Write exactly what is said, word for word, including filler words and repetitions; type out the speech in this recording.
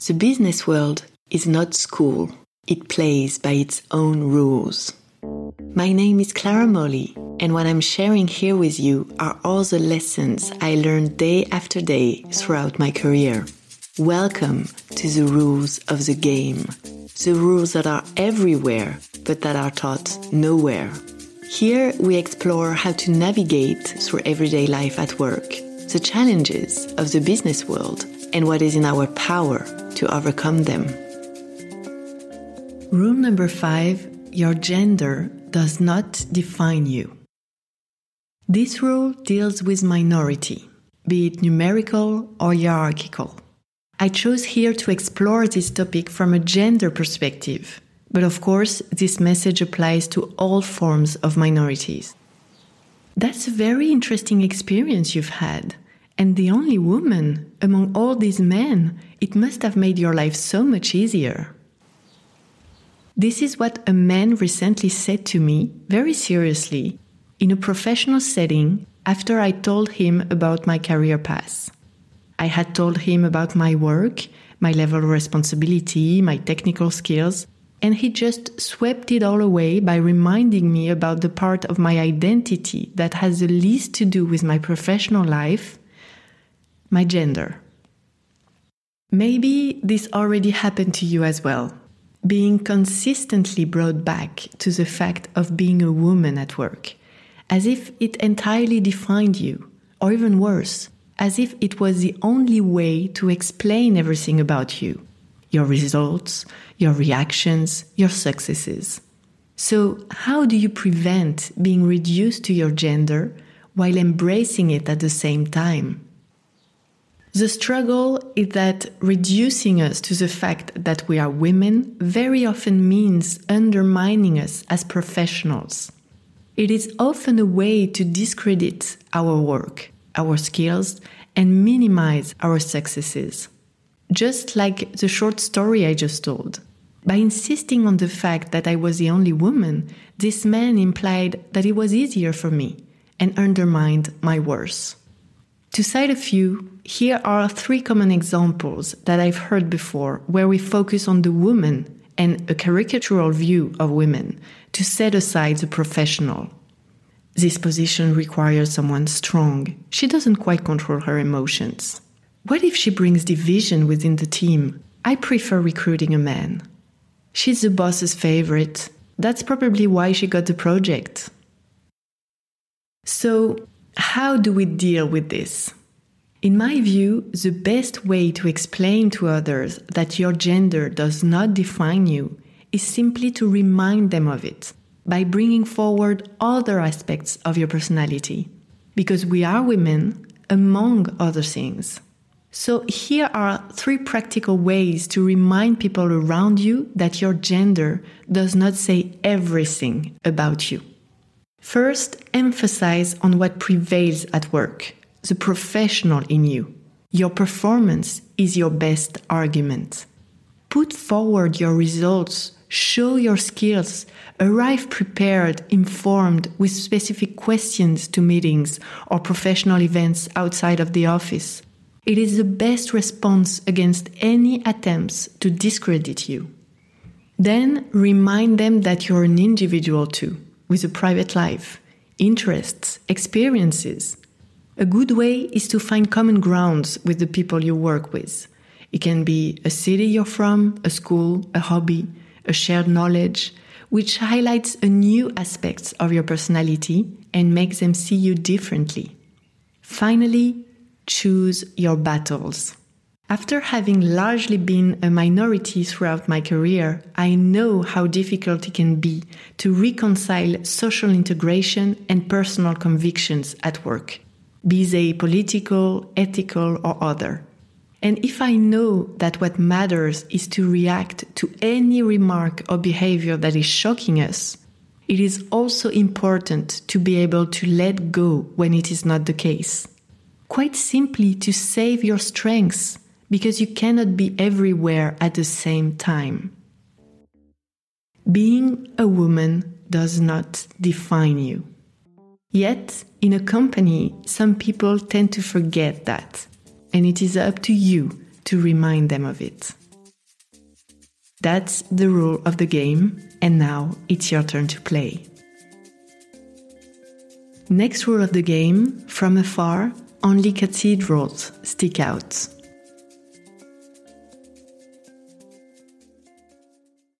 The business world is not school. It plays by its own rules. My name is Clara Molly, and what I'm sharing here with you are all the lessons I learned day after day throughout my career. Welcome to the rules of the game. The rules that are everywhere, but that are taught nowhere. Here we explore how to navigate through everyday life at work, the challenges of the business world, and what is in our power to overcome them. Rule number five, your gender does not define you. This rule deals with minority, be it numerical or hierarchical. I chose here to explore this topic from a gender perspective, but of course this message applies to all forms of minorities. That's a very interesting experience you've had, and the only woman among all these men, it must have made your life so much easier. This is what a man recently said to me, very seriously, in a professional setting after I told him about my career path. I had told him about my work, my level of responsibility, my technical skills, and he just swept it all away by reminding me about the part of my identity that has the least to do with my professional life, my gender. Maybe this already happened to you as well, being consistently brought back to the fact of being a woman at work, as if it entirely defined you, or even worse, as if it was the only way to explain everything about you, your results, your reactions, your successes. So how do you prevent being reduced to your gender while embracing it at the same time? The struggle is that reducing us to the fact that we are women very often means undermining us as professionals. It is often a way to discredit our work, our skills, and minimize our successes. Just like the short story I just told. By insisting on the fact that I was the only woman, this man implied that it was easier for me and undermined my worth. To cite a few, here are three common examples that I've heard before where we focus on the woman and a caricatural view of women to set aside the professional. This position requires someone strong. She doesn't quite control her emotions. What if she brings division within the team? I prefer recruiting a man. She's the boss's favorite. That's probably why she got the project. So, how do we deal with this? In my view, the best way to explain to others that your gender does not define you is simply to remind them of it by bringing forward other aspects of your personality. Because we are women, among other things. So here are three practical ways to remind people around you that your gender does not say everything about you. First, emphasize on what prevails at work, the professional in you. Your performance is your best argument. Put forward your results, show your skills, arrive prepared, informed, with specific questions to meetings or professional events outside of the office. It is the best response against any attempts to discredit you. Then remind them that you're an individual too, with a private life, interests, experiences. A good way is to find common grounds with the people you work with. It can be a city you're from, a school, a hobby, a shared knowledge, which highlights a new aspects of your personality and makes them see you differently. Finally, choose your battles. After having largely been a minority throughout my career, I know how difficult it can be to reconcile social integration and personal convictions at work, be they political, ethical, or other. And if I know that what matters is to react to any remark or behavior that is shocking us, it is also important to be able to let go when it is not the case. Quite simply to save your strengths, because you cannot be everywhere at the same time. Being a woman does not define you. Yet, in a company, some people tend to forget that, and it is up to you to remind them of it. That's the rule of the game, and now it's your turn to play. Next rule of the game, from afar, only cathedrals stick out.